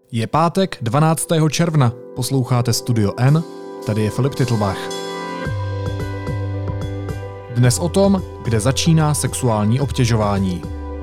Je pátek 12. června, posloucháte Studio N, tady je Filip Titlbach. Dnes o tom, kde začíná sexuální obtěžování.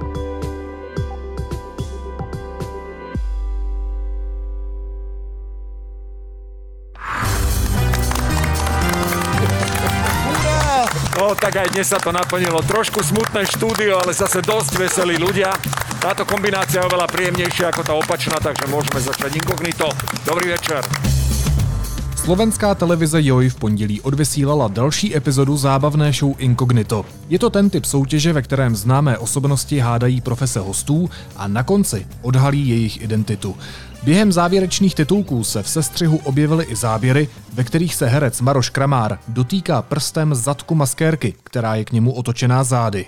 No, tak aj dnes sa to naplnilo. Trošku smutné štúdio, ale zase dosť veselí ľudia. Táto kombinácia je oveľa príjemnejšia ako tá opačná, takže môžeme začať inkognito. Dobrý večer. Slovenská televize Joj v pondělí odvysílala další epizodu zábavné show Inkognito. Je to ten typ soutěže, ve kterém známé osobnosti hádají profese hostů a na konci odhalí jejich identitu. Během závěrečných titulků se v sestřihu objevily i záběry, ve kterých se herec Maroš Kramár dotýká prstem zadku maskérky, která je k němu otočená zády.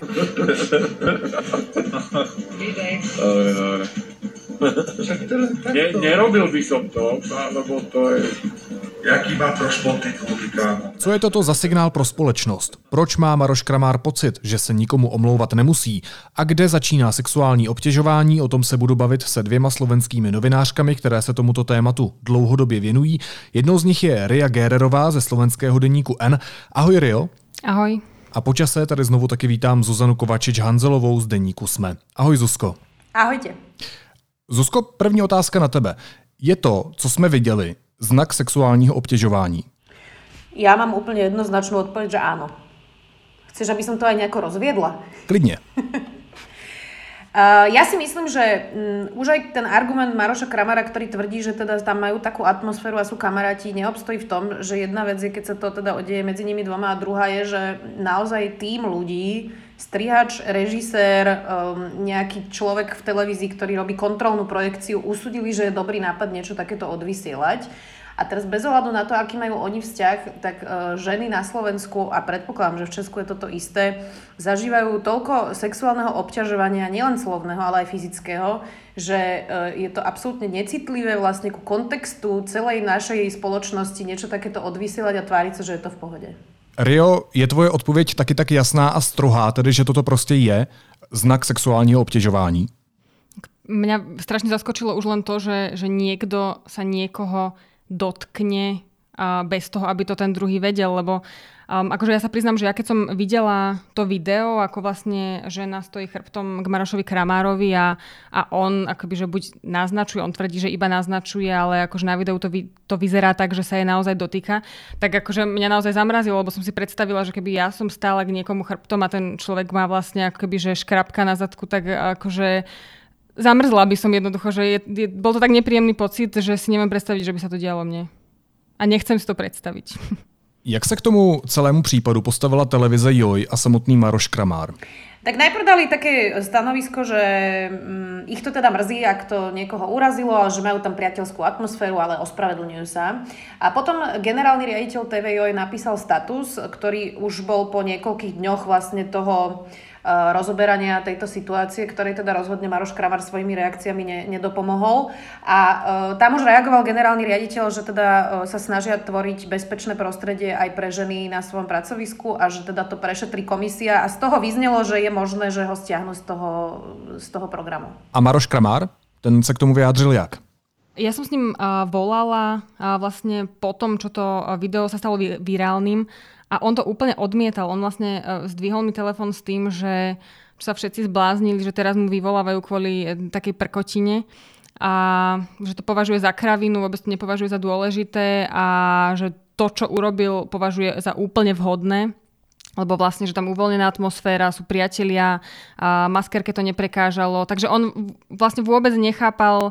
Nerobil by som to, lebo to je... Jaký má proč podtitulky, kámo? Co je toto za signál pro společnost? Proč má Maroš Kramár pocit, že se nikomu omlouvat nemusí? A kde začíná sexuální obtěžování? O tom se budu bavit se dvěma slovenskými novinářkami, které se tomuto tématu dlouhodobě věnují. Jednou z nich je Ria Gererová ze slovenského deníku N. Ahoj Rio. Ahoj. A po čase tady znovu taky vítám Zuzanu Kovačič-Hanzelovou z deníku SME. Ahoj Zuzko. Ahojte. Zuzko, první otázka na tebe. Je to, co jsme viděli, znak sexuálního obtěžování? Ja mám úplne jednoznačnú odpoveď, že áno. Chceš, aby som to aj nejako rozviedla? Klidně. Ja si myslím, že už aj ten argument Maroša Kramára, ktorý tvrdí, že teda tam majú takú atmosféru a sú kamaráti, neobstojí v tom, že jedna vec je, keď sa to teda odeje medzi nimi dvoma a druhá je, že naozaj tým ľudí, strihač, režisér, nejaký človek v televízii, ktorý robí kontrolnú projekciu, usúdili, že je dobrý nápad niečo takéto odvysielať. A teraz bez ohľadu na to, aký majú oni vzťah, tak ženy na Slovensku, a predpokladám, že v Česku je toto isté, zažívajú toľko sexuálneho obťažovania, nielen slovného, ale aj fyzického, že je to absolútne necitlivé vlastne ku kontextu celej našej spoločnosti niečo takéto odvysielať a tváriť sa, že je to v pohode. Rio, je tvoje odpověď taky tak jasná a strohá, tedy že toto prostě je znak sexuálního obtěžování? Mňa strašne zaskočilo už len to, že niekto sa niekoho dotkne bez toho, aby to ten druhý vedel, lebo akože ja sa priznám, že ja keď som videla to video, ako vlastne žena stojí chrbtom k Marošovi Kramárovi a on akoby, že buď naznačuje, on tvrdí, že iba naznačuje, ale akože na videu to vyzerá tak, že sa jej naozaj dotýka, tak akože mňa naozaj zamrazilo, lebo som si predstavila, že keby ja som stála k niekomu chrbtom a ten človek má vlastne akoby, že škrabka na zadku, tak akože zamrzla by som jednoducho, že bol to tak nepríjemný pocit, že si neviem predstaviť, že by sa to dialo mne. A nechcem si to predstaviť. Jak se k tomu celému případu postavila televize Joj a samotný Maroš Kramár? Tak najprv dali také stanovisko, že ich to teda mrzí, ak to niekoho urazilo, ale že majú tam priateľskú atmosféru, ale ospravedlňujú sa. A potom generálny riaditeľ TV Joj napísal status, ktorý už bol po niekoľkých dňoch vlastne toho rozoberania tejto situácie, ktorej teda rozhodne Maroš Kramár svojimi reakciami nedopomohol. A tam už reagoval generálny riaditeľ, že teda sa snažia tvoriť bezpečné prostredie aj pre ženy na svojom pracovisku a že teda to prešetrí komisia a z toho vyznelo, že je možné, že ho stiahnu z toho programu. A Maroš Kramár? Ten sa k tomu vyjádřil jak? Ja som s ním volala vlastne po tom, čo to video sa stalo virálnym. A on to úplne odmietal. On vlastne zdvihol mi telefón s tým, že sa všetci zbláznili, že teraz mu vyvolávajú kvôli takej prkotine a že to považuje za kravinu, vôbec to nepovažuje za dôležité a že to, čo urobil, považuje za úplne vhodné, lebo vlastne, že tam uvoľnená atmosféra, sú priatelia, a maskérke to neprekážalo. Takže on vlastne vôbec nechápal,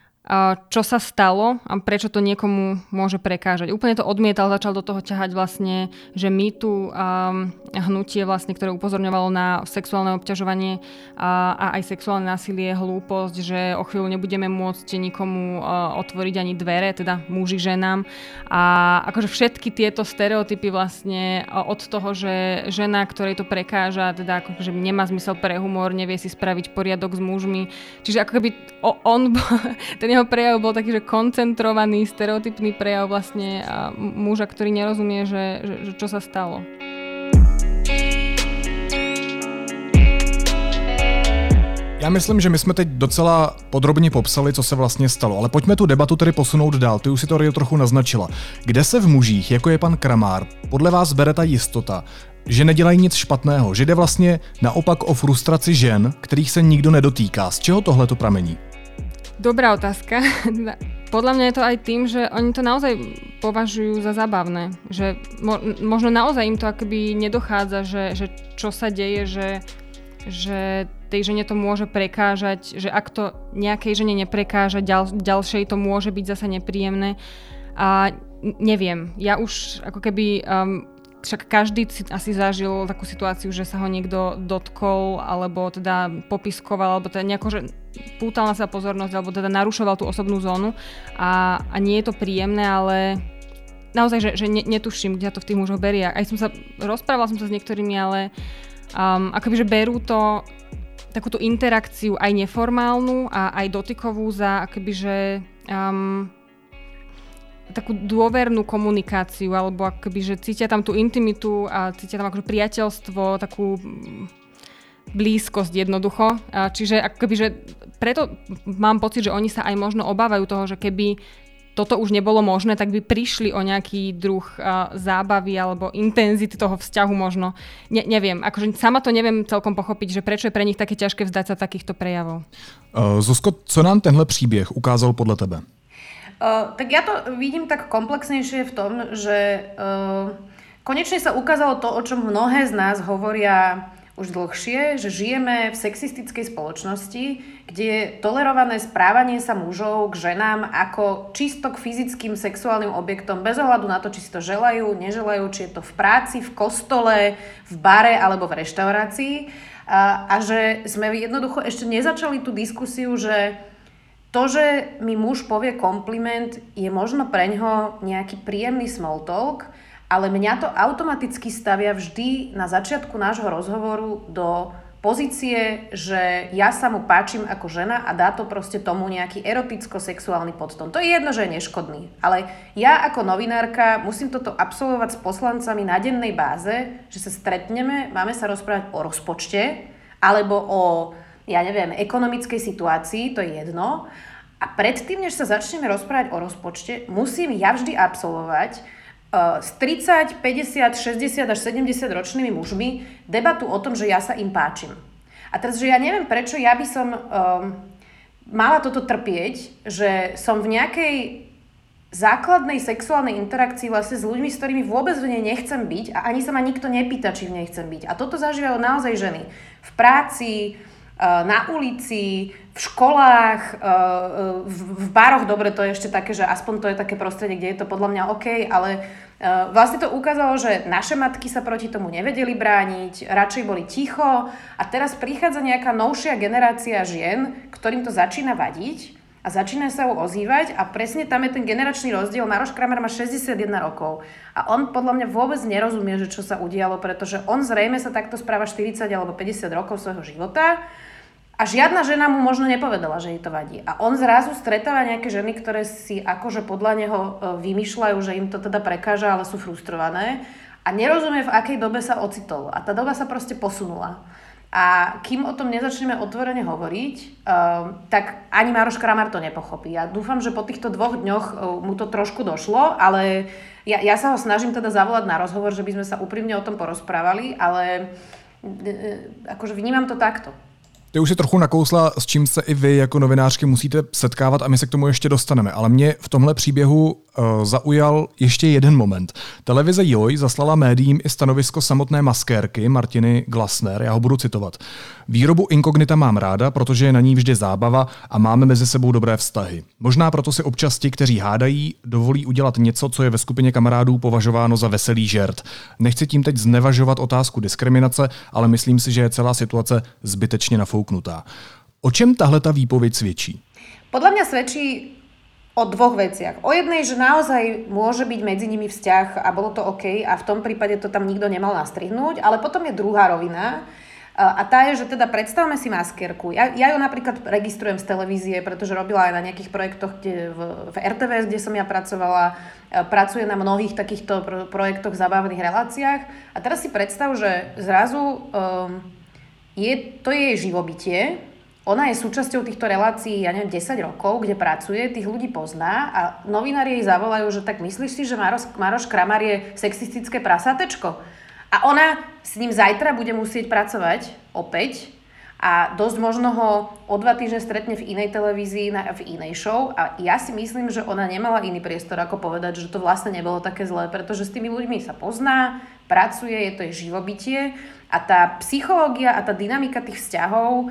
čo sa stalo a prečo to niekomu môže prekážať. Úplne to odmietal, začal do toho ťahať vlastne, že MeToo hnutie vlastne, ktoré upozorňovalo na sexuálne obťažovanie a aj sexuálne násilie, hlúposť, že o chvíľu nebudeme môcť nikomu otvoriť ani dvere, teda muži ženám. A akože všetky tieto stereotypy vlastne od toho, že žena, ktorej to prekáža, teda akože nemá zmysel pre humor, nevie si spraviť poriadok s mužmi. Čiže ako keby on ten jeho prejav bol taký, že koncentrovaný, stereotypný prejav vlastne muža, ktorý nerozumie, že čo sa stalo. Já myslím, že my jsme teď docela podrobně popsali, co se vlastně stalo, ale pojďme tu debatu tedy posunout dál. Ty už si to Rio trochu naznačila. Kde se v mužích, jako je pan Kramár, podle vás bere ta jistota, že nedělají nic špatného, že jde vlastně naopak o frustraci žen, kterých se nikdo nedotýká? Z čeho tohle to pramení? Dobrá otázka. Podľa mňa je to aj tým, že oni to naozaj považujú za zábavné. Že možno naozaj im to akoby nedochádza, že čo sa deje, že tej žene to môže prekážať, že ak to nejakej žene neprekáža, ďalšej to môže byť zasa nepríjemné. A neviem, ja už ako keby... Však každý si asi zažil takú situáciu, že sa ho niekto dotkol, alebo teda popiskoval, alebo teda nejako, že pútal na sa pozornosť, alebo teda narušoval tú osobnú zónu a nie je to príjemné, ale naozaj, že netuším, kde to v tých mužoch berie. Aj rozprávala som sa s niektorými, ale akoby, že berú to takúto interakciu aj neformálnu a aj dotykovú za akoby, že takú dôvernú komunikáciu, alebo akoby, že cítia tam tú intimitu a cítia tam akože priateľstvo, takú blízkosť jednoducho. Čiže akoby, že preto mám pocit, že oni sa aj možno obávajú toho, že keby toto už nebolo možné, tak by prišli o nejaký druh zábavy alebo intenzity toho vzťahu možno. Neviem, akože sama to neviem celkom pochopiť, že prečo je pre nich také ťažké vzdať sa takýchto prejavov. Zuzko, co nám tenhle příběh ukázal podle tebe? Tak ja to vidím tak komplexnejšie v tom, že konečne sa ukázalo to, o čom mnohé z nás hovoria už dlhšie, že žijeme v sexistickej spoločnosti, kde je tolerované správanie sa mužov k ženám ako čisto k fyzickým sexuálnym objektom, bez ohľadu na to, či si to želajú, neželajú, či je to v práci, v kostole, v bare alebo v reštaurácii. A že sme jednoducho ešte nezačali tú diskusiu, že to, že mi muž povie kompliment, je možno preňho nejaký príjemný small talk, ale mňa to automaticky stavia vždy na začiatku nášho rozhovoru do pozície, že ja sa mu páčim ako žena a dá to proste tomu nejaký eroticko-sexuálny podtón. To je jedno, že je neškodný, ale ja ako novinárka musím toto absolvovať s poslancami na dennej báze, že sa stretneme, máme sa rozprávať o rozpočte alebo o ekonomickej situácii, to je jedno. A predtým, než sa začneme rozprávať o rozpočte, musím ja vždy absolvovať s 30, 50, 60 až 70 ročnými mužmi debatu o tom, že ja sa im páčim. A teraz, že ja neviem, prečo ja by som mala toto trpieť, že som v nejakej základnej sexuálnej interakcii vlastne s ľuďmi, s ktorými vôbec v nej nechcem byť a ani sa ma nikto nepýta, či v nej chcem byť. A toto zažívajú naozaj ženy. V práci, na ulici, v školách, v baroch, dobre, to je ešte také, že aspoň to je také prostredie, kde je to podľa mňa OK, ale vlastne to ukázalo, že naše matky sa proti tomu nevedeli brániť, radšej boli ticho a teraz prichádza nejaká novšia generácia žien, ktorým to začína vadiť a začína sa ju ozývať a presne tam je ten generačný rozdiel. Maroš Kramár má 61 rokov a on podľa mňa vôbec nerozumie, že čo sa udialo, pretože on zrejme sa takto správa 40 alebo 50 rokov svojho života. A žiadna žena mu možno nepovedala, že jej to vadí. A on zrazu stretáva nejaké ženy, ktoré si akože podľa neho vymýšľajú, že im to teda prekáža, ale sú frustrované. A nerozumie, v akej dobe sa ocitol. A tá doba sa proste posunula. A kým o tom nezačneme otvorene hovoriť, tak ani Maroš Kramár to nepochopí. Ja dúfam, že po týchto 2 dňoch mu to trošku došlo, ale ja sa ho snažím teda zavolať na rozhovor, že by sme sa úprimne o tom porozprávali, ale akože vnímam to takto. Ty už si trochu nakousla, s čím se i vy jako novinářky musíte setkávat a my se k tomu ještě dostaneme. Ale mě v tomhle příběhu zaujal ještě jeden moment. Televize Joj zaslala médiím i stanovisko samotné maskérky Martiny Glasner. Já ho budu citovat. Výrobu inkognita mám ráda, protože je na ní vždy zábava a máme mezi sebou dobré vztahy. Možná proto si občas ti, kteří hádají, dovolí udělat něco, co je ve skupině kamarádů považováno za veselý žert. Nechci tím teď znevažovat otázku diskriminace, ale myslím si, že je celá situace zbytečně nafouknutá. O čem tahle ta výpověď svědčí? Podľa mňa svedčí o 2 veciach. O jednej, že naozaj môže byť medzi nimi vzťah a bolo to OK a v tom prípade to tam nikto nemal nastrihnúť, ale potom je druhá rovina a tá je, že teda predstavme si maskérku. Ja ju napríklad registrujem z televízie, pretože robila aj na nejakých projektoch v RTVS, kde som ja pracovala, pracuje na mnohých takýchto projektoch, zabavných reláciách a teraz si predstav, že zrazu je to jej živobytie Ona je súčasťou týchto relácií, ja neviem, 10 rokov, kde pracuje, tých ľudí pozná a novinári jej zavolajú, že tak myslíš si, že Maroš Kramar je sexistické prasátečko? A ona s ním zajtra bude musieť pracovať opäť a dosť možno ho o 2 týždne stretne v inej televízii, v inej show a ja si myslím, že ona nemala iný priestor, ako povedať, že to vlastne nebolo také zlé, pretože s tými ľuďmi sa pozná, pracuje, je to jej živobytie a tá psychológia a tá dynamika tých vzťahov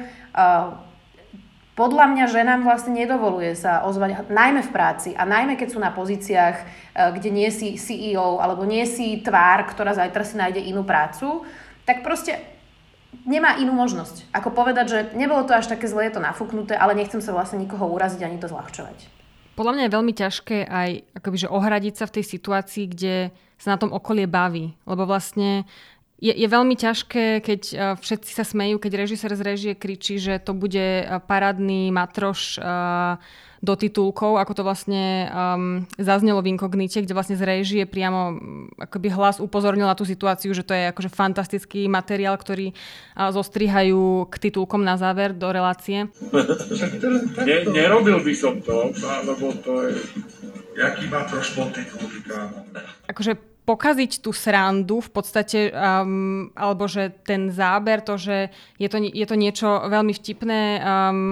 podľa mňa ženám vlastne nedovoluje sa ozvať, najmä v práci a najmä keď sú na pozíciách, kde nie si CEO alebo nie si tvár, ktorá zajtra si nájde inú prácu, tak proste nemá inú možnosť. Ako povedať, že nebolo to až také zlé, je to nafúknuté, ale nechcem sa vlastne nikoho uraziť ani to zľahčovať. Podľa mňa je veľmi ťažké aj akoby, že ohradiť sa v tej situácii, kde sa na tom okolie baví. Lebo vlastne je veľmi ťažké, keď všetci sa smejú, keď režisér z režie kričí, že to bude parádny matroš do titulkov, ako to vlastne zaznelo v Inkognite, kde vlastne z režie priamo akoby hlas upozornil na tú situáciu, že to je akože fantastický materiál, ktorý zostrihajú k titulkom na záver do relácie. Nerobil by som to, lebo to je... Jaký má troš podtitulky, kámo? Akože pokaziť tú srandu v podstate, alebo že ten záber, to, že je to niečo veľmi vtipné,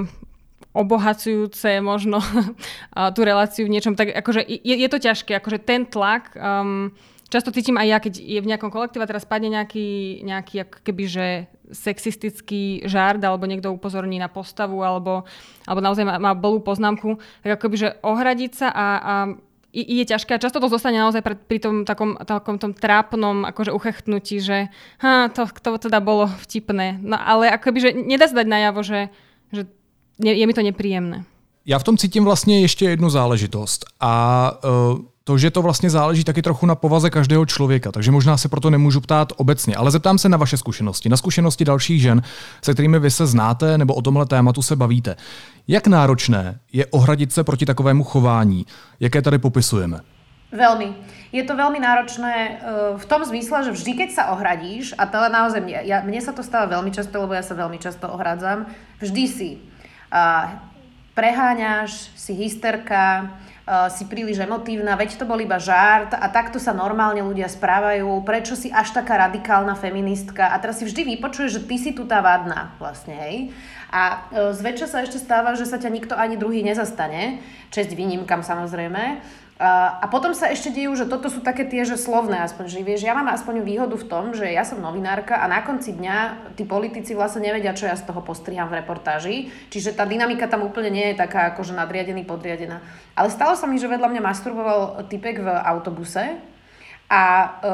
obohacujúce možno tú reláciu v niečom, tak akože je to ťažké, akože ten tlak, často cítim aj ja, keď je v nejakom kolektíve a teraz padne nejaký ako keby, že sexistický žart, alebo niekto upozorní na postavu, alebo naozaj má bolú poznámku, tak akoby, že ohradiť sa a je ťažké a často to zostane naozaj pri tom takom tom trápnom akože uchechtnutí, že to teda bolo vtipné. No ale akoby, že nedá sa dať najavo, že je mi to nepříjemné. Já v tom cítím vlastně ještě jednu záležitost a to, že to vlastně záleží taky trochu na povaze každého člověka, takže možná se proto nemůžu ptát obecně, ale zeptám se na vaše zkušenosti, na zkušenosti dalších žen, se kterými vy se znáte nebo o tomhle tématu se bavíte. Jak náročné je ohradit se proti takovému chování, jaké tady popisujeme? Veľmi. Je to veľmi náročné v tom zmysle, že vždy, keď sa ohradíš, a to naozaj mne sa to stáva veľmi často, lebo ja sa veľmi často ohradzam, vždy si preháňaš, si hysterka, si príliš emotívna, veď to bol iba žart a takto sa normálne ľudia správajú, prečo si až taká radikálna feministka a teraz si vždy vypočuješ, že ty si tu tá vadná vlastne, hej. A zväčša sa ešte stáva, že sa ťa nikto ani druhý nezastane, česť výnimkám samozrejme. A potom sa ešte dejú, že toto sú také tie, že slovné aspoň, že vieš, ja mám aspoň výhodu v tom, že ja som novinárka a na konci dňa tí politici vlastne nevedia, čo ja z toho postriham v reportáži, čiže tá dynamika tam úplne nie je taká akože nadriadený, podriadená. Ale stalo sa mi, že vedľa mňa masturboval typek v autobuse a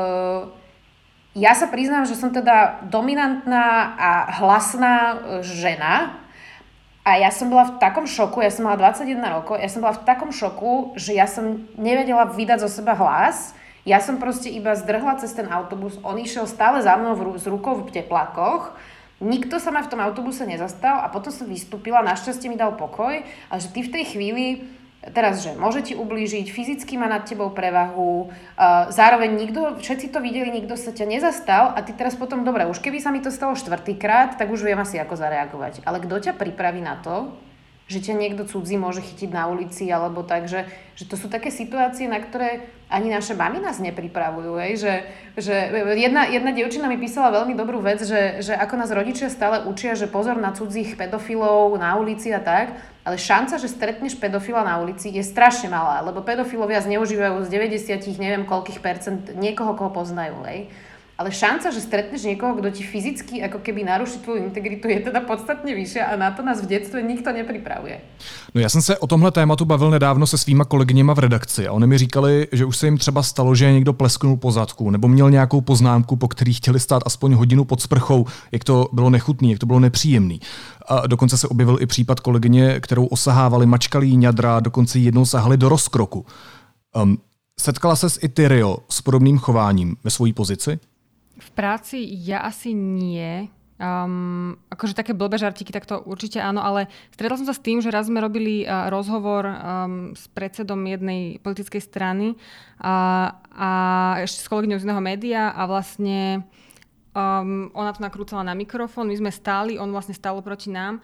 ja sa priznám, že som teda dominantná a hlasná žena. A ja som bola v takom šoku, ja som mala 21 rokov, ja som bola v takom šoku, že ja som nevedela vydať zo seba hlas. Ja som proste iba zdrhla cez ten autobus, on išiel stále za mnou s rukou v teplákoch. Nikto sa ma v tom autobuse nezastal a potom som vystúpila, našťastie mi dal pokoj, ale že ty v tej chvíli, teraz, že môže ti ublížiť, fyzicky má nad tebou prevahu, zároveň všetci to videli, nikto sa ťa nezastal a ty teraz potom, dobre, už keby sa mi to stalo 4-krát, tak už viem asi ako zareagovať. Ale kto ťa pripraví na to, že ťa niekto cudzí môže chytiť na ulici, alebo tak, že to sú také situácie, na ktoré ani naše mami nás nepripravujú. Že jedna dievčina mi písala veľmi dobrú vec, že ako nás rodičia stále učia, že pozor na cudzích pedofilov na ulici a tak, ale šanca, že stretneš pedofila na ulici je strašne malá, lebo pedofilovia zneužívajú z 90 neviem koľkých percent niekoho, koho poznajú. Ale šanca, že stretneš niekoho, kto ti fyzicky ako keby naruší tvoju integritu, je teda podstatne vyššia a na to nás v dětství nikto nepripravuje. No já jsem se o tomhle tématu bavil nedávno se svýma kolegyněma v redakci a oni mi říkali, že už se jim třeba stalo, že někdo plesknul po zadku nebo měl nějakou poznámku, po který chtěli stát aspoň hodinu pod sprchou, jak to bylo nechutný, jak to bylo nepříjemný. A dokonce se objevil i případ kolegyně, kterou osahávali, mačkali jí ňadra, dokonce jednou sahali do rozkroku. Setkala ses i ty, Rio, s podobným chováním ve svojí pozici? V práci ja asi nie. Akože také blbé žartiky, tak to určite áno, ale stretla som sa s tým, že raz sme robili rozhovor s predsedom jednej politickej strany a ešte s kolegyňou z iného média a vlastne ona to nakrúcala na mikrofón, my sme stáli, on vlastne stál proti nám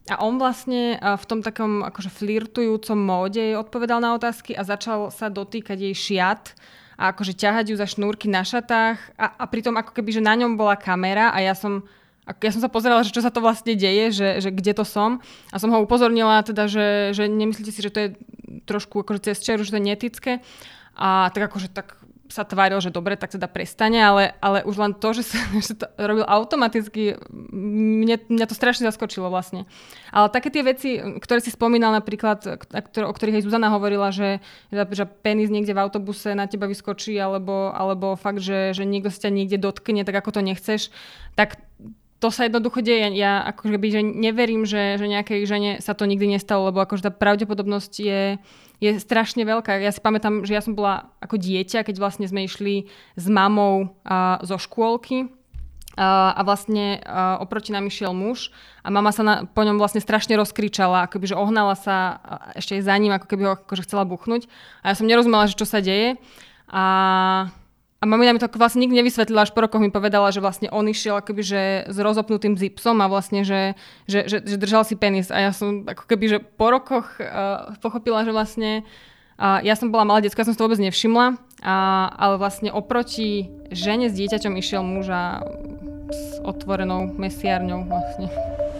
A on vlastne v tom takom akože flirtujúcom móde jej odpovedal na otázky a začal sa dotýkať jej šiat a akože ťahať ju za šnúrky na šatách a pritom ako keby, že na ňom bola kamera a ja som sa pozerala, že čo sa to vlastne deje, že kde to som a som ho upozornila teda, že nemyslíte si, že to je trošku akože cez čeru, že to je neetické a tak akože tak sa tváril, že dobre, tak teda prestane, ale už len to, že to robil automaticky, mňa to strašne zaskočilo vlastne. Ale také tie veci, ktoré si spomínal napríklad, o ktorých aj Zuzana hovorila, že penis niekde v autobuse na teba vyskočí, alebo fakt, že niekto sa ťa niekde dotkne, tak ako to nechceš, tak to sa jednoducho deje. Ja akože že neverím, že nejakej žene sa to nikdy nestalo, lebo akože tá pravdepodobnosť je strašne veľká. Ja si pamätám, že ja som bola ako dieťa, keď vlastne sme išli s mamou zo škôlky a vlastne oproti nám išiel muž a mama sa po ňom vlastne strašne rozkričala, akoby, že ohnala sa ešte za ním, ako keby ho akože chcela buchnúť. A ja som nerozumela, že čo sa deje. A mamina mi to vlastne nikdy nevysvetlila, až po rokoch mi povedala, že vlastne on išiel akoby, že s rozopnutým zipsom a vlastne, že držal si penis. A ja som ako keby, že po rokoch pochopila, že vlastne ja som bola malá decka, ja som si to vôbec nevšimla, ale vlastne oproti žene s dieťaťom išiel muž a s otvorenou mesiarňou vlastne.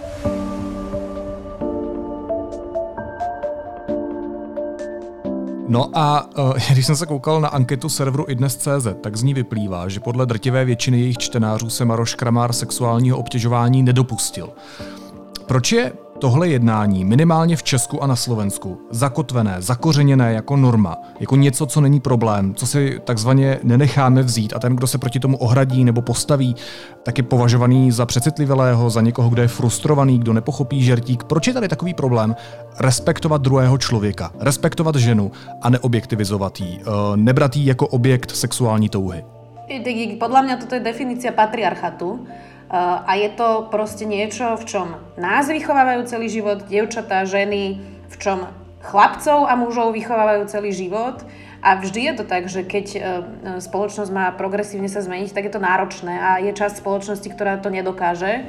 No a když jsem se koukal na anketu serveru iDnes.cz, tak z ní vyplývá, že podle drtivé většiny jejich čtenářů se Maroš Kramár sexuálního obtěžování nedopustil. Proč je tohle jednání minimálně v Česku a na Slovensku zakotvené, zakořeněné jako norma, jako něco, co není problém, co si takzvaně nenecháme vzít a ten, kdo se proti tomu ohradí nebo postaví, tak je považovaný za přecitlivělého, za někoho, kdo je frustrovaný, kdo nepochopí žertík. Proč je tady takový problém respektovat druhého člověka, respektovat ženu a neobjektivizovat jí, nebrat jí jako objekt sexuální touhy? Podľa mňa toto je definícia patriarchatu. A je to proste niečo, v čom nás vychovávajú celý život, dievčatá, ženy, v čom chlapcov a mužov vychovávajú celý život. A vždy je to tak, že keď spoločnosť má progresívne sa zmeniť, tak je to náročné a je časť spoločnosti, ktorá to nedokáže.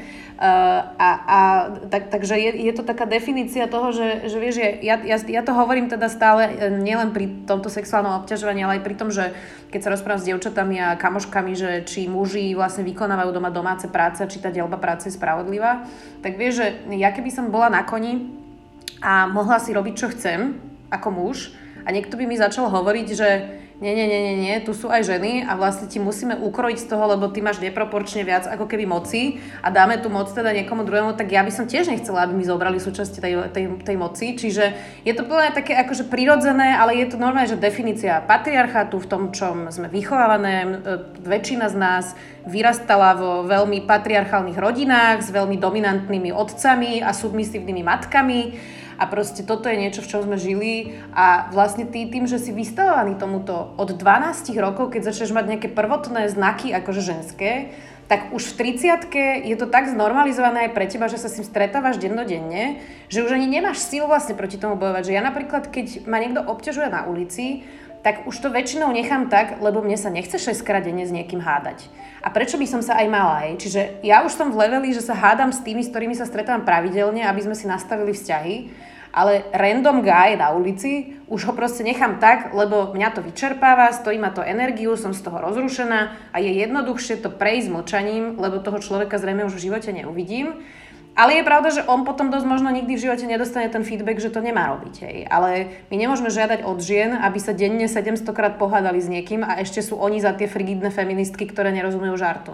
Takže je to taká definícia toho, že vieš, ja to hovorím teda stále nielen pri tomto sexuálnom obťažovaní, ale aj pri tom, že keď sa rozprávam s dievčatami a kamoškami, že či muži vlastne vykonávajú doma domáce práce, či tá deľba práce je spravodlivá, tak vieš, že ja keby som bola na koni a mohla si robiť, čo chcem, ako muž, a niekto by mi začal hovoriť, že nie, tu sú aj ženy a vlastne ti musíme ukrojiť z toho, lebo ty máš neproporčne viac ako keby moci a dáme tú moc teda niekomu druhému, tak ja by som tiež nechcela, aby mi zobrali súčasť tej moci. Čiže je to plne také akože prirodzené, ale je to normálne, že definícia patriarchatu v tom, čom sme vychovávané. Väčšina z nás vyrastala vo veľmi patriarchálnych rodinách s veľmi dominantnými otcami a submisívnymi matkami. A proste toto je niečo, v čom sme žili a vlastne tým, že si vystavovaný tomuto od 12 rokov, keď začneš mať nejaké prvotné znaky akože ženské, tak už v 30-ke je to tak znormalizované aj pre teba, že sa s tým stretávaš dennodenne, že už ani nemáš sílu vlastne proti tomu bojovať. Že ja napríklad, keď ma niekto obťažuje na ulici, tak už to väčšinou nechám tak, lebo mne sa nechce 6-krát denne s niekým hádať. A prečo by som sa aj mala? Čiže ja už som v leveli, že sa hádam s tými, s ktorými sa stretávam pravidelne, aby sme si nastavili vzťahy, ale random guy na ulici už ho proste nechám tak, lebo mňa to vyčerpáva, stojí ma to energiu, som z toho rozrušená a je jednoduchšie to prejsť mlčaním, lebo toho človeka zrejme už v živote neuvidím. Ale je pravda, že on potom dosť možno nikdy v živote nedostane ten feedback, že to nemá robiť. Hej. Ale my nemôžeme žiadať od žien, aby sa denne 700-krát pohádali s niekým a ešte sú oni za tie frigidné feministky, ktoré nerozumejú žartu.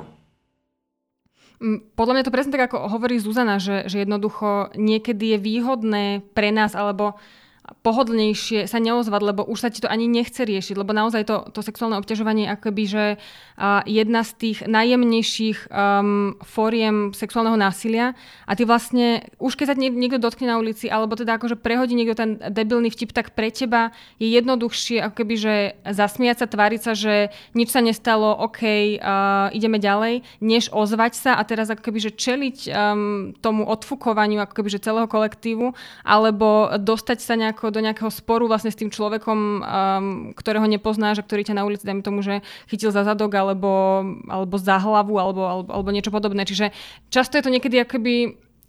Podľa mňa to presne tak, ako hovorí Zuzana, že jednoducho niekedy je výhodné pre nás alebo pohodlnejšie sa neozvať, lebo už sa ti to ani nechce riešiť, lebo naozaj to sexuálne obťažovanie je akoby, že jedna z tých najjemnejších fóriem sexuálneho násilia a ty vlastne, už keď sa niekto dotkne na ulici, alebo teda akože prehodí niekto ten debilný vtip, tak pre teba je jednoduchšie ako keby, že zasmiať sa, tváriť sa, že nič sa nestalo, OK, ideme ďalej, než ozvať sa a teraz ako keby, že čeliť tomu odfukovaniu ako keby, že celého kolektívu, alebo dostať sa do nejakého sporu vlastne s tým človekom, ktorého nepoznáš a ktorý ťa na ulici, dajme tomu, že chytil za zadok alebo za hlavu alebo niečo podobné. Čiže často je to niekedy akoby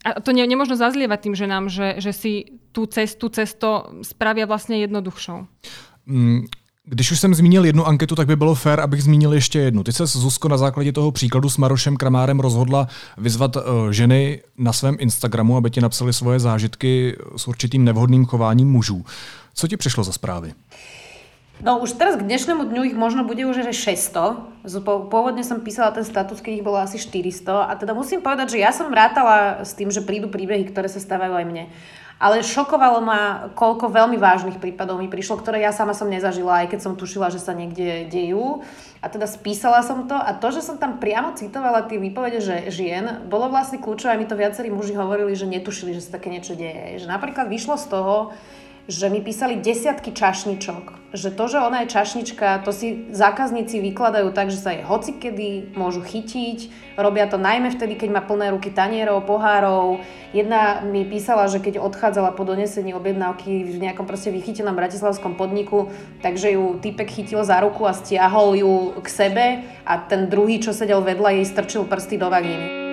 A to nemôžno zazlievať tým ženám, že si tú cesto spravia vlastne jednoduchšou. Když už jsem zmínil jednu anketu, tak by bylo fér, abych zmínil ještě jednu. Ty se, Zuzko, na základě toho příkladu s Marošem Kramárem rozhodla vyzvat ženy na svém Instagramu, aby ti napsali svoje zážitky s určitým nevhodným chováním mužů. Co ti přišlo za zprávy? No už teraz k dnešnému dňu ich možno bude už aj 600. Pôvodne som písala ten status, keď ich bolo asi 400. A teda musím povedať, že ja som vrátala s tým, že prídu príbehy, ktoré sa stávajú aj mne. Ale šokovalo ma, koľko veľmi vážnych prípadov mi prišlo, ktoré ja sama som nezažila, aj keď som tušila, že sa niekde dejú. A teda spísala som to a to, že som tam priamo citovala tie výpovede žien, bolo vlastne kľúčové, aj mi to viacerí muži hovorili, že netušili, že sa také niečo deje. Že napríklad vyšlo z toho, že mi písali desiatky čašničok, že to, že ona je čašnička, to si zákazníci vykladajú tak, že sa jej hocikedy môžu chytiť, robia to najmä vtedy, keď má plné ruky tanierov, pohárov. Jedna mi písala, že keď odchádzala po donesení objednávky v nejakom proste vychytenom bratislavskom podniku, takže ju týpek chytil za ruku a stiahol ju k sebe a ten druhý, čo sedel vedľa, jej strčil prsty do vagíny.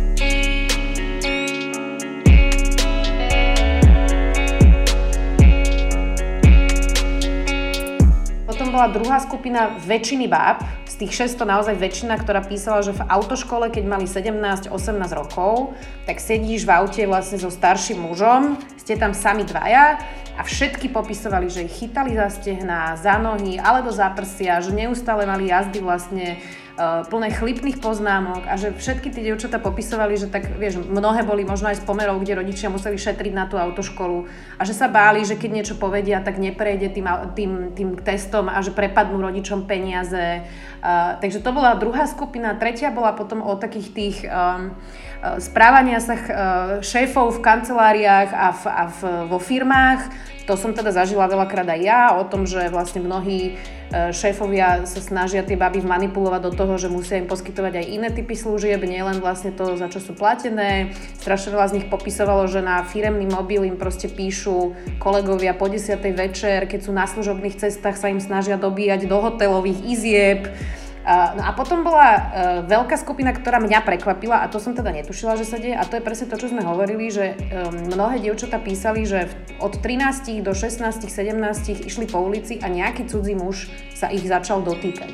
Bola druhá skupina väčšiny báb, z tých 600 naozaj väčšina, ktorá písala, že v autoškole, keď mali 17-18 rokov, tak sedíš v aute vlastne so starším mužom, ste tam sami dvaja a všetky popisovali, že ich chytali za stehná, za nohy alebo za prsia, že neustále mali jazdy vlastne plné chlipných poznámok a že všetky tie dievčatá popisovali, že tak, vieš, mnohé boli možno aj z pomerov, kde rodičia museli šetriť na tú autoškolu a že sa báli, že keď niečo povedia, tak neprejde tým testom a že prepadnú rodičom peniaze. Takže to bola druhá skupina. Tretia bola potom o takých tých správania sa šéfov v kanceláriách a vo firmách. To som teda zažila veľakrát aj ja, o tom, že vlastne mnohí šéfovia sa snažia tie baby manipulovať do toho, že musia im poskytovať aj iné typy služieb, nielen vlastne to, za čo sú platené. Strašne veľa z nich popisovalo, že na firemný mobil im proste píšu kolegovia po 10. večer, keď sú na služobných cestách, sa im snažia dobíjať do hotelových izieb. No a potom bola veľká skupina, ktorá mňa prekvapila a to som teda netušila, že sa deje a to je presne to, čo sme hovorili, že mnohé dievčatá písali, že od 13 do 16, 17 išli po ulici a nejaký cudzí muž sa ich začal dotýkať.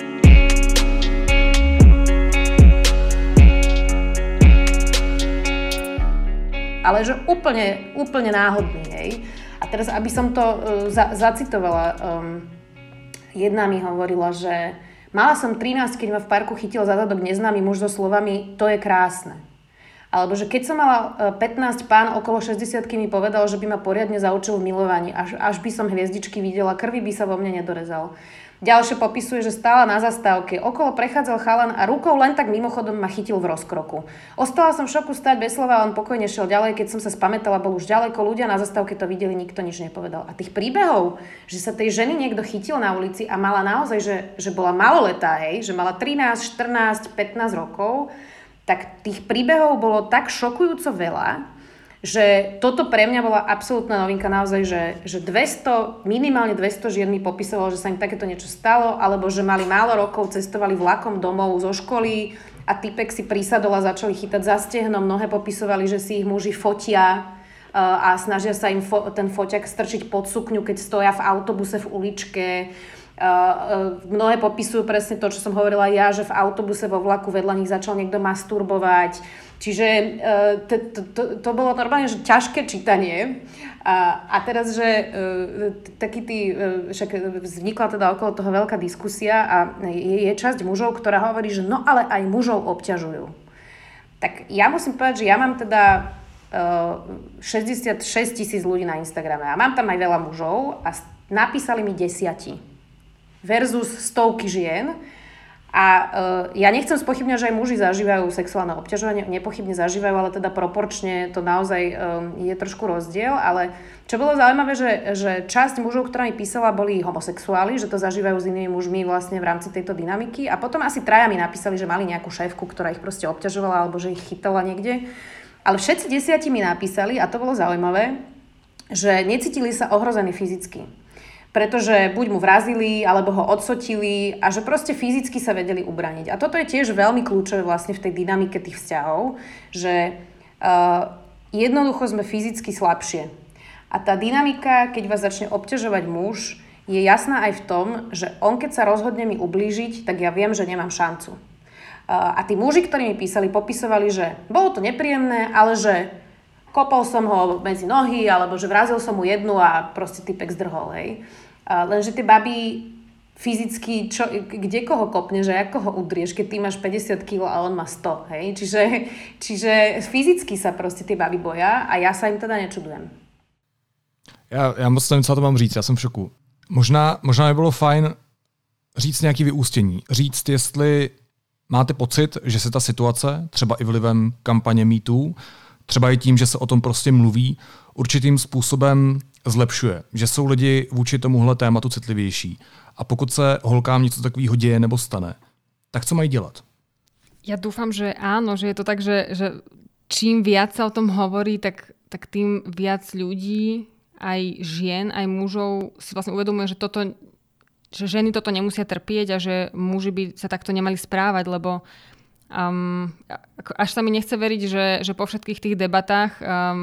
Ale že úplne náhodný, hej. A teraz, aby som to zacitovala, jedna mi hovorila, že mala som 13, keď ma v parku chytil za zadok neznámy muž so slovami "to je krásne". Alebo že keď som mala 15, pán okolo 60-ky mi povedal, že by ma poriadne zaučil v milovaní, až by som hviezdičky videla, krvi by sa vo mne nedorezal. Ďalšie popisuje, že stála na zastávke, okolo prechádzal chalan a rukou len tak mimochodom ma chytil v rozkroku. Ostala som v šoku stáť bez slova a on pokojne šiel ďalej, keď som sa spamätala, bol už ďaleko, ľudia na zastávke to videli, nikto nič nepovedal. A tých príbehov, že sa tej ženy niekto chytil na ulici a mala naozaj, že bola maloletá, hej, že mala 13, 14, 15 rokov, tak tých príbehov bolo tak šokujúco veľa, že toto pre mňa bola absolútna novinka naozaj, že minimálne 200 žien mi popisovalo, že sa im takéto niečo stalo, alebo že mali málo rokov, cestovali vlakom domov zo školy a typek si prisadol a začali chytať za stehno. Mnohé popisovali, že si ich muži fotia a snažia sa im ten foťak strčiť pod sukňu, keď stoja v autobuse v uličke. Mnohé popisujú presne to, čo som hovorila ja, že v autobuse vo vlaku vedľa nich začal niekto masturbovať. Čiže to bolo normálne, že ťažké čítanie. A teraz, že však vznikla teda okolo toho veľká diskusia a je časť mužov, ktorá hovorí, že no ale aj mužov obťažujú. Tak ja musím povedať, že ja mám teda 66 000 ľudí na Instagrame a mám tam aj veľa mužov a napísali mi 10 versus stovky žien. A ja nechcem spochybňať, že aj muži zažívajú sexuálne obťažovanie, nepochybne zažívajú, ale teda proporčne to naozaj je trošku rozdiel. Ale čo bolo zaujímavé, že časť mužov, ktorá mi písala, boli homosexuáli, že to zažívajú s inými mužmi vlastne v rámci tejto dynamiky. A potom asi 3 mi napísali, že mali nejakú šéfku, ktorá ich proste obťažovala alebo že ich chytala niekde. Ale všetci 10 mi napísali, a to bolo zaujímavé, že necítili sa ohrození fyzicky. Pretože buď mu vrazili, alebo ho odsotili a že proste fyzicky sa vedeli ubraniť. A toto je tiež veľmi kľúčové vlastne v tej dynamike tých vzťahov, že Jednoducho sme fyzicky slabšie. A tá dynamika, keď vás začne obťažovať muž, je jasná aj v tom, že on keď sa rozhodne mi ublížiť, tak ja viem, že nemám šancu. A tí muži, ktorí mi písali, popisovali, že bolo to nepríjemné, ale že kopol som ho medzi nohy, alebo že vrazil som mu jednu a proste typek zdrhol, hej. Lenže tie baby fyzicky, kde koho kopneš a ako ho udrieš, keď ty máš 50 kg a on má 100, hej. Čiže fyzicky sa proste tie baby boja a ja sa im teda nečudujem. Já moc nevím, co to mám říct, já jsem v šoku. Možná by bylo fajn říct nějaké vyústění. Říct, jestli máte pocit, že se ta situace, třeba i vlivem kampaně MeToo, třeba i tím, že se o tom prostě mluví, určitým způsobem zlepšuje. Že jsou lidi vůči tomuhle tématu citlivější. A pokud se holkám něco takového děje nebo stane, tak co mají dělat? Ja dúfam, že áno, že je to tak, že čím viac sa o tom hovorí, tak tým viac ľudí, aj žien, aj mužov si vlastne uvedomuje, že ženy toto nemusia trpieť a že muži by sa takto nemali správať, lebo až sa mi nechce veriť, že po všetkých tých debatách,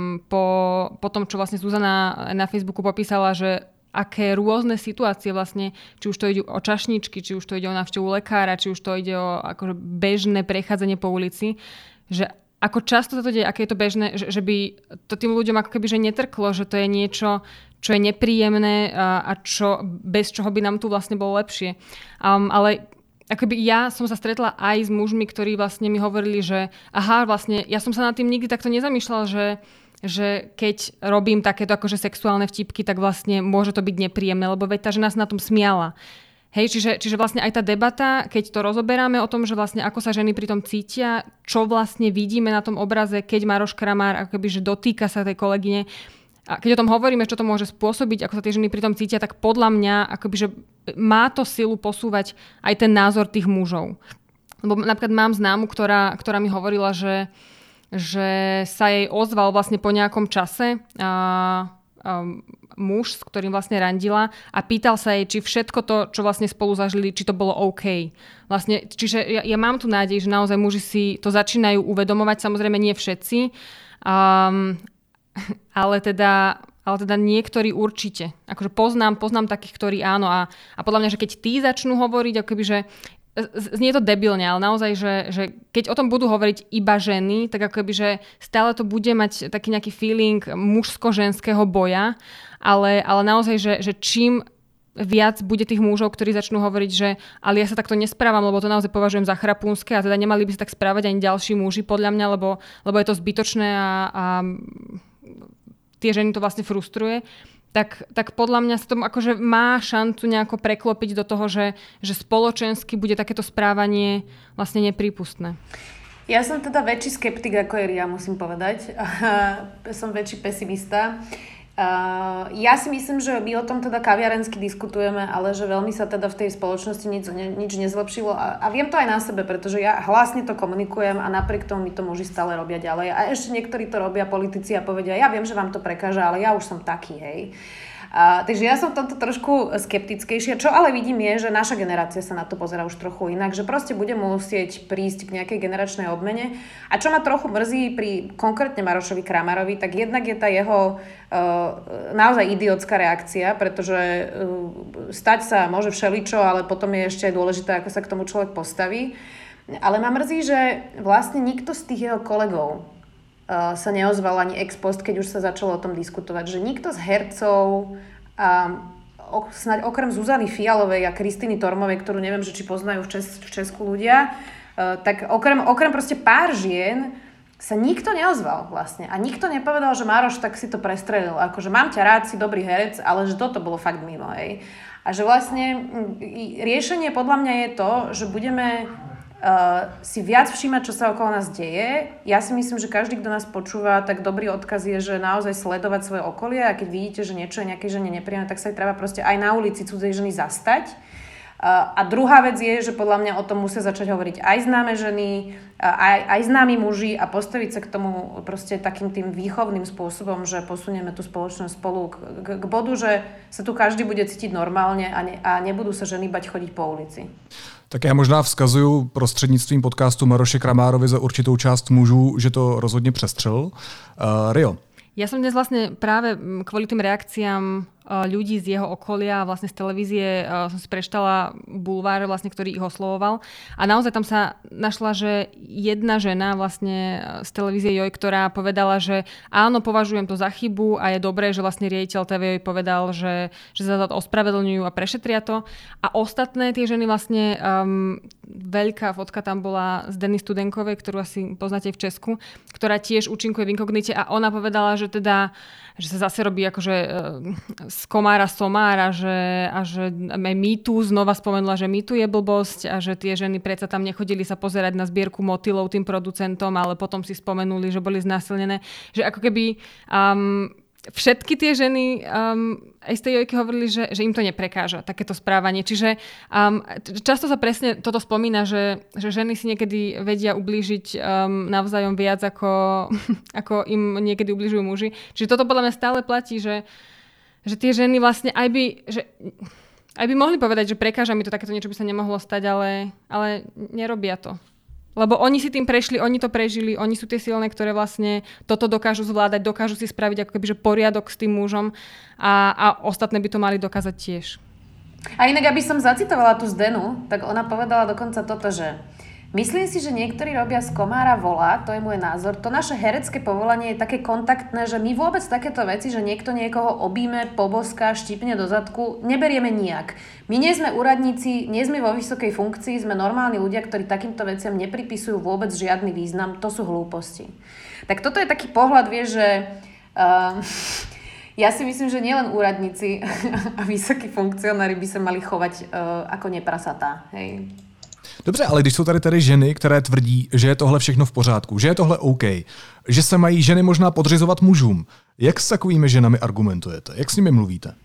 po tom, čo vlastne Zuzana na Facebooku popísala, že aké rôzne situácie vlastne, či už to ide o čašničky, či už to ide o návštevu lekára, či už to ide o akože bežné prechádzanie po ulici, že ako často sa to deje, aké je to bežné, že by to tým ľuďom ako keby že netrklo, že to je niečo, čo je nepríjemné a bez čoho by nám tu vlastne bolo lepšie. Ale akoby ja som sa stretla aj s mužmi, ktorí vlastne mi hovorili, že vlastne ja som sa nad tým nikdy takto nezamýšľala, že keď robím takéto akože sexuálne vtipky, tak vlastne môže to byť nepríjemné, lebo veď tá žena sa na tom smiala. Hej, čiže vlastne aj tá debata, keď to rozoberáme o tom, že vlastne ako sa ženy pri tom cítia, čo vlastne vidíme na tom obraze, keď Maroš Kramár akoby, že dotýka sa tej kolegyne, a keď o tom hovoríme, čo to môže spôsobiť, ako sa tie ženy pri tom cítia, tak podľa mňa akoby, že má to silu posúvať aj ten názor tých mužov. Lebo napríklad mám známu, ktorá mi hovorila, že sa jej ozval vlastne po nejakom čase muž, s ktorým vlastne randila a pýtal sa jej, či všetko to, čo vlastne spolu zažili, či to bolo OK. Vlastne, čiže ja mám tu nádej, že naozaj muži si to začínajú uvedomovať, samozrejme nie všetci, ale teda niektorí určite. Akože poznám takých, ktorí áno a podľa mňa, že keď tí začnú hovoriť, akoby, že znie to debilne, ale naozaj, že keď o tom budú hovoriť iba ženy, tak akoby, že stále to bude mať taký nejaký feeling mužsko-ženského boja, ale naozaj, že čím viac bude tých mužov, ktorí začnú hovoriť, že ale ja sa takto nesprávam, lebo to naozaj považujem za chrapúnske a teda nemali by sa tak správať ani ďalší muži, podľa mňa, lebo je to zbytočné a tie ženy to vlastne frustruje. Tak podľa mňa sa to akože má šancu nejako preklopiť do toho, že spoločensky bude takéto správanie vlastne neprípustné. Ja som teda väčší skeptik ako je Ria, musím povedať. Som väčší pesimista. Ja si myslím, že my o tom teda kaviarensky diskutujeme, ale že veľmi sa teda v tej spoločnosti nič nezlepšilo a viem to aj na sebe, pretože ja hlasne to komunikujem a napriek tomu mi to muži stále robia ďalej a ešte niektorí to robia politici a povedia, ja viem, že vám to prekáža, ale ja už som taký, hej. Takže ja som v tomto trošku skeptickejšia. Čo ale vidím je, že naša generácia sa na to pozerá už trochu inak, že proste bude musieť prísť k nejakej generačnej obmene. A čo ma trochu mrzí pri konkrétne Marošovi Kramárovi, tak jednak je tá jeho naozaj idiotská reakcia, pretože stať sa môže všeličo, ale potom je ešte aj dôležité, ako sa k tomu človek postaví. Ale ma mrzí, že vlastne nikto z tých jeho kolegov sa neozval ani ex post, keď už sa začalo o tom diskutovať, že nikto z hercov, snáď okrem Zuzany Fialovej a Kristiny Tormovej, ktorú neviem, že či poznajú v Česku ľudia, tak okrem proste pár žien sa nikto neozval vlastne. A nikto nepovedal, že Maroš, tak si to prestrelil. Akože mám ťa rád, si dobrý herec, ale že toto bolo fakt mimo, hej. A že vlastne riešenie podľa mňa je to, že budeme si viac všímať, čo sa okolo nás deje. Ja si myslím, že každý, kto nás počúva, tak dobrý odkaz je, že naozaj sledovať svoje okolie a keď vidíte, že niečo je nejakej žene nepríjemné, tak sa aj treba proste aj na ulici cudzej ženy zastať. A druhá vec je, že podľa mňa o tom musia začať hovoriť aj známe ženy, aj známi muži a postaviť sa k tomu proste takým tým výchovným spôsobom, že posunieme tú spoločnosť spolu k bodu, že sa tu každý bude cítiť normálne a nebudú sa ženy bať chodiť po ulici. Tak já možná vzkazuju prostřednictvím podcastu Maroše Kramárovi za určitou část mužů, že to rozhodně přestřelil. Rio. Ja som dnes vlastne práve kvôli tým reakciám ľudí z jeho okolia, vlastne z televízie som si prečítala bulvár, vlastne, ktorý ich oslovoval. A naozaj tam sa našla, že jedna žena vlastne z televízie Joj, ktorá povedala, že áno, považujem to za chybu a je dobré, že vlastne riaditeľ TV Joj povedal, že sa za to ospravedlňujú a prešetria to. A ostatné tie ženy vlastne, veľká fotka tam bola z Denny Studenkovej, ktorú asi poznáte v Česku, ktorá tiež účinkuje v inkognite a ona povedala, že sa zase robí akože z komára somára, a že MeToo znova spomenula, že MeToo je blbosť a že tie ženy predsa tam nechodili sa pozerať na zbierku motylov tým producentom, ale potom si spomenuli, že boli znásilnené. Že ako keby všetky tie ženy aj z tej Jojky hovorili, že im to neprekáža, takéto správanie. Čiže často sa presne toto spomína, že ženy si niekedy vedia ublížiť navzájom viac, ako im niekedy ubližujú muži. Čiže toto podľa mňa stále platí, že tie ženy vlastne aj by mohli povedať, že prekáža mi to, takéto niečo by sa nemohlo stať, ale nerobia to. Lebo oni si tým prešli, oni to prežili, oni sú tie silné, ktoré vlastne toto dokážu zvládať, dokážu si spraviť ako keby, že poriadok s tým mužom a ostatné by to mali dokázať tiež. A inak, aby som zacitovala tú Zdenu, tak ona povedala dokonca toto, že myslím si, že niektorí robia z komára vola, to je môj názor. To naše herecké povolanie je také kontaktné, že my vôbec takéto veci, že niekto niekoho obíme, poboská, štípne do zadku, neberieme nijak. My nie sme úradníci, nie sme vo vysokej funkcii, sme normálni ľudia, ktorí takýmto veciam nepripisujú vôbec žiadny význam. To sú hlúposti. Tak toto je taký pohľad, vieš, že ja si myslím, že nielen úradníci a vysokí funkcionári by sa mali chovať ako neprasatá. Hej. Dobře, ale když jsou tady ženy, které tvrdí, že je tohle všechno v pořádku, že je tohle OK, že se mají ženy možná podřizovat mužům, jak s takovými ženami argumentujete? Jak s nimi mluvíte?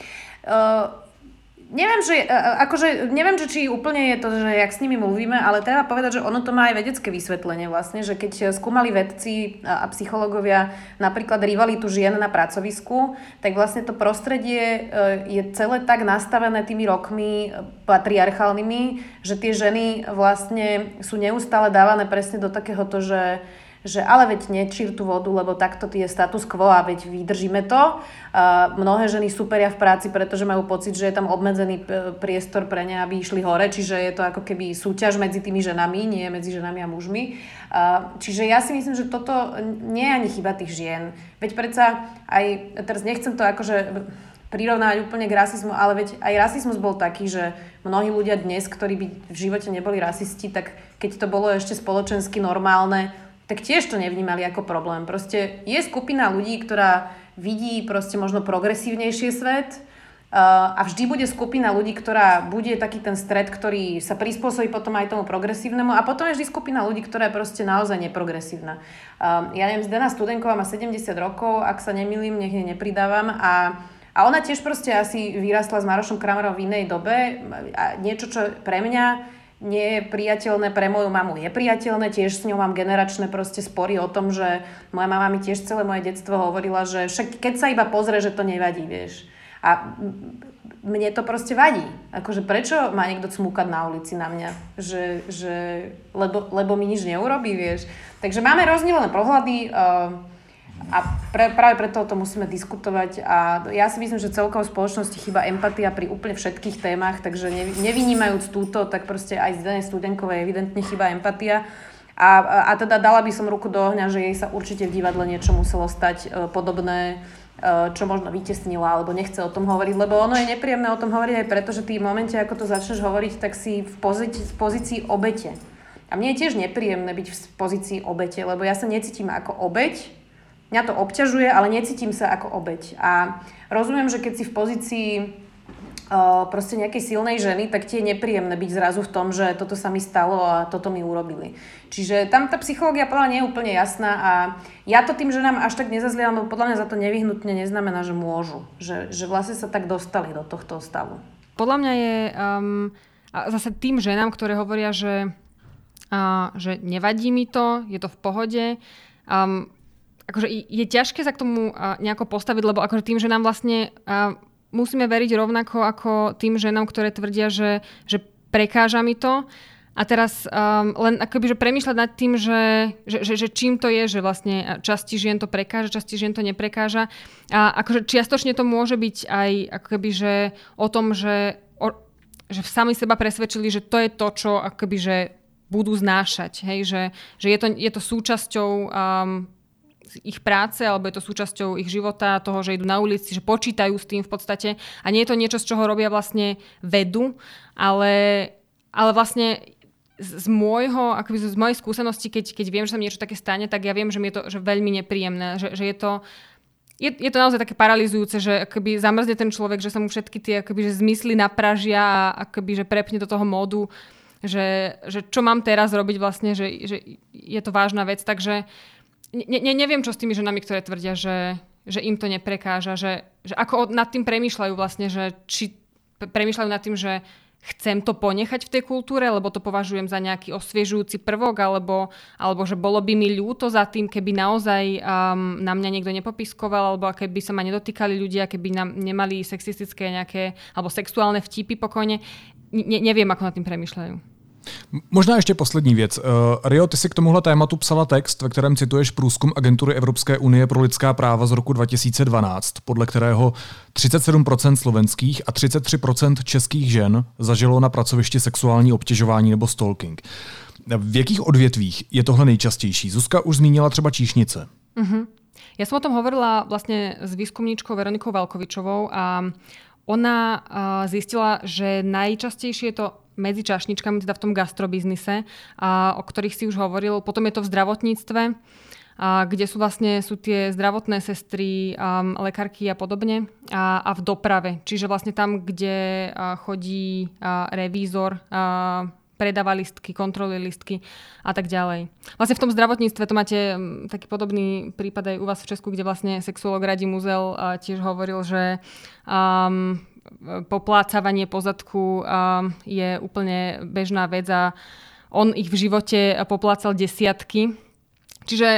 Neviem, či úplne je to, že jak s nimi mluvíme, ale treba povedať, že ono to má aj vedecké vysvetlenie vlastne, že keď skúmali vedci a psychológovia napríklad rivalitu žien na pracovisku, tak vlastne to prostredie je celé tak nastavené tými rokmi patriarchálnymi, že tie ženy vlastne sú neustále dávané presne do takéhoto, že ale veď nečír tú vodu, lebo takto je status quo a veď vydržíme to. Mnohé ženy súperia v práci, pretože majú pocit, že je tam obmedzený priestor pre ne, aby išli hore, čiže je to ako keby súťaž medzi tými ženami, nie medzi ženami a mužmi. Čiže ja si myslím, že toto nie je ani chyba tých žien. Veď predsa aj, teraz nechcem to akože prirovnávať úplne k rasizmu, ale veď aj rasizmus bol taký, že mnohí ľudia dnes, ktorí by v živote neboli rasisti, tak keď to bolo ešte spoločensky normálne, tak tiež to nevnímali ako problém. Proste je skupina ľudí, ktorá vidí proste možno progresívnejšie svet a vždy bude skupina ľudí, ktorá bude taký ten stred, ktorý sa prispôsobí potom aj tomu progresívnemu a potom je vždy skupina ľudí, ktorá je proste naozaj neprogresívna. Ja neviem, Zdena Studenková má 70 rokov, ak sa nemýlim, nech jej nepridávam a ona tiež proste asi vyrastla s Marošom Kramárom v inej dobe a niečo, čo pre mňa nie je priateľné, pre moju mamu je priateľné, tiež s ňou mám generačné proste spory o tom, že moja mama mi tiež celé moje detstvo hovorila, že však keď sa iba pozrie, že to nevadí, vieš. A mne to proste vadí. Akože prečo má niekto cmúkať na ulici na mňa? Lebo mi nič neurobí, vieš. Takže máme rozdielne pohľady a práve preto o tom musíme diskutovať a ja si myslím, že celkovo v spoločnosti chýba empatia pri úplne všetkých témach, takže nevynímajúc túto, tak proste aj z Zdene Studenkovej evidentne chýba empatia a teda dala by som ruku do ohňa, že jej sa určite v divadle niečo muselo stať podobné, čo možno vytesnila alebo nechce o tom hovoriť, lebo ono je nepríjemné o tom hovoriť aj preto, že ty v momente, ako to začneš hovoriť, tak si v pozícii obete. A mne je tiež nepríjemné byť v pozícii obete, lebo ja sa necítim ako obeť. Mňa to obťažuje, ale necítim sa ako obeť. A rozumiem, že keď si v pozícii proste nejakej silnej ženy, tak ti je nepríjemné byť zrazu v tom, že toto sa mi stalo a toto mi urobili. Čiže tam tá psychológia podľa mňa nie je úplne jasná a ja to tým ženám až tak nezazlievam, lebo podľa mňa za to nevyhnutne neznamená, že môžu. Že vlastne sa tak dostali do tohto stavu. Podľa mňa je A zase tým ženám, ktoré hovoria, že nevadí mi to, je to v pohode, akože je ťažké sa k tomu nejako postaviť, lebo akože tým ženám vlastne musíme veriť rovnako ako tým ženám, ktoré tvrdia, že prekáža mi to. A teraz len akoby, že premýšľať nad tým, že čím to je, že vlastne časti žien to prekáža, časti žien to neprekáža. A akože čiastočne to môže byť aj akoby, že o tom, že sami seba presvedčili, že to je to, čo akoby, že budú znášať. Hej? Že je to súčasťou ich práce, alebo je to súčasťou ich života, toho, že idú na ulici, že počítajú s tým v podstate. A nie je to niečo, z čoho robia vlastne vedu, ale vlastne z mojej skúsenosti, keď viem, že sa mi niečo také stane, tak ja viem, že mi je to že veľmi nepríjemné. Že je to naozaj také paralizujúce, že akoby zamrzne ten človek, že sa mu všetky tie akoby, že zmysly napražia a akoby, že prepne do toho módu, že čo mám teraz robiť vlastne, že je to vážna vec. Takže neviem, čo s tými ženami, ktoré tvrdia, že im to neprekáža, že ako nad tým premýšľajú vlastne, že či premýšľajú nad tým, že chcem to ponechať v tej kultúre, lebo to považujem za nejaký osviežujúci prvok, alebo že bolo by mi ľúto za tým, keby naozaj na mňa niekto nepopiskoval, alebo keby sa ma nedotýkali ľudia, keby nám nemali sexistické nejaké, alebo sexuálne vtipy pokojne. Neviem, ako nad tým premýšľajú. Možná ještě poslední věc. Rio, ty si k tomuhle tématu psala text, ve kterém cituješ průzkum Agentury Evropské unie pro lidská práva z roku 2012, podle kterého 37% slovenských a 33% českých žen zažilo na pracovišti sexuální obtěžování nebo stalking. V jakých odvětvích je tohle nejčastější? Zuzka už zmínila třeba číšnice. Ja som o tom hovorila vlastne s výskumníčkou Veronikou Valkovičovou a ona zistila, že najčastejšie je to medzi čašničkami, teda v tom gastrobiznise, o ktorých si už hovoril. Potom je to v zdravotníctve, kde sú tie zdravotné sestry, lekárky a podobne. A v doprave. Čiže vlastne tam, kde chodí revízor, predáva listky, kontroluje listky a tak ďalej. Vlastne v tom zdravotníctve to máte taký podobný prípad aj u vás v Česku, kde vlastne sexuolog Radim Uzel tiež hovoril, že poplácavanie po zadku je úplne bežná vec a on ich v živote poplácal desiatky. Čiže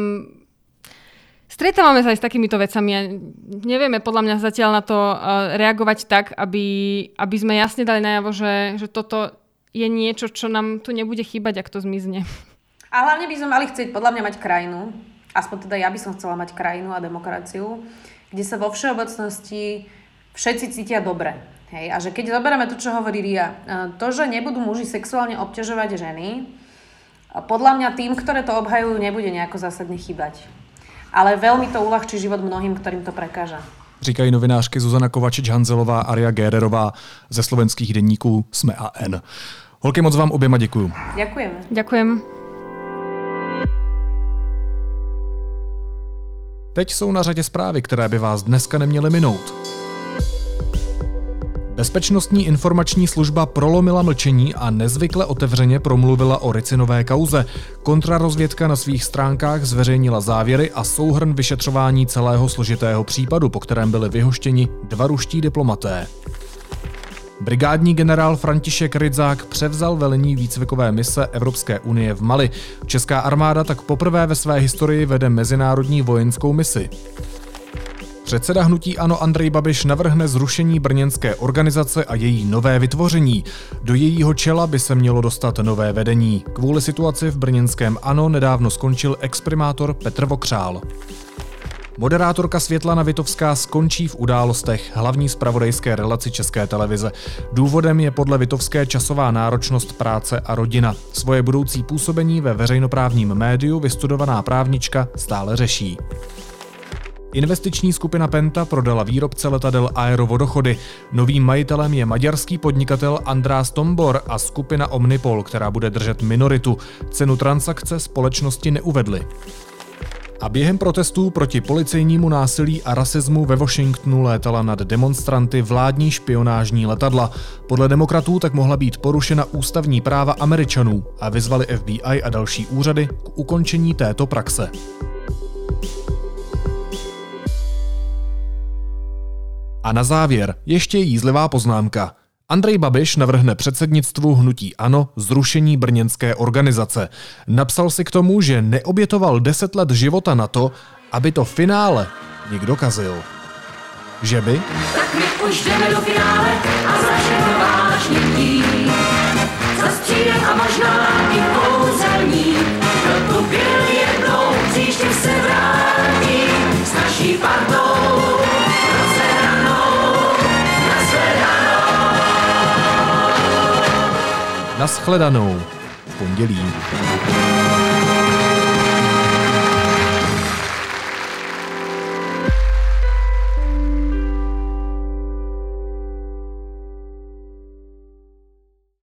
stretávame sa aj s takýmito vecami a nevieme podľa mňa zatiaľ na to reagovať tak, aby sme jasne dali najavo, že toto je niečo, čo nám tu nebude chýbať, ak to zmizne. A hlavne by sme mali chcieť podľa mňa mať krajinu, aspoň teda ja by som chcela mať krajinu a demokraciu, kde sa vo všeobecnosti všetci cítia dobre. Hej? A že keď zoberieme to, čo hovorí Ria, to, že nebudú muži sexuálne obťažovať ženy, podľa mňa tým, ktoré to obhajujú, nebude nejako zásadne chýbať. Ale veľmi to uľahčí život mnohým, ktorým to prekáža. Říkají novinářky Zuzana Kovačič-Hanzelová a Ria Gérerová ze slovenských deníků Sme a N. Holky, moc vám oběma děkuju. Ďakujeme. Ďakujem. Teď jsou na řadě zprávy, které by vás dneska neměly minout. Bezpečnostní informační služba prolomila mlčení a nezvykle otevřeně promluvila o Ricinové kauze. Kontrarozvědka na svých stránkách zveřejnila závěry a souhrn vyšetřování celého složitého případu, po kterém byli vyhoštěni 2 ruští diplomaté. Brigádní generál František Rydzák převzal velení výcvikové mise Evropské unie v Mali. Česká armáda tak poprvé ve své historii vede mezinárodní vojenskou misi. Předseda hnutí ANO Andrej Babiš navrhne zrušení brněnské organizace a její nové vytvoření. Do jejího čela by se mělo dostat nové vedení. Kvůli situaci v brněnském ANO nedávno skončil exprimátor Petr Vokřál. Moderátorka Světlana Vitovská skončí v Událostech, hlavní zpravodajské relaci České televize. Důvodem je podle Vitovské časová náročnost práce a rodina. Svoje budoucí působení ve veřejnoprávním médiu vystudovaná právnička stále řeší. Investiční skupina Penta prodala výrobce letadel Aerovodochody. Novým majitelem je maďarský podnikatel András Tombor a skupina Omnipol, která bude držet minoritu. Cenu transakce společnosti neuvedly. A během protestů proti policejnímu násilí a rasismu ve Washingtonu létala nad demonstranty vládní špionážní letadla. Podle demokratů tak mohla být porušena ústavní práva Američanů a vyzvali FBI a další úřady k ukončení této praxe. A na závěr ještě jízlivá poznámka. Andrej Babiš navrhne předsednictvu hnutí ANO zrušení brněnské organizace. Napsal si k tomu, že neobětoval 10 let života na to, aby to finále někdo kazil. Že by? Tak my už jdeme do finále a začneme vážně chtít. Zastřílem a možná i kouzelník, kdo tu byl jednou, příště se vrátí s naší partou rozehranou, Nashledanou v pondělí.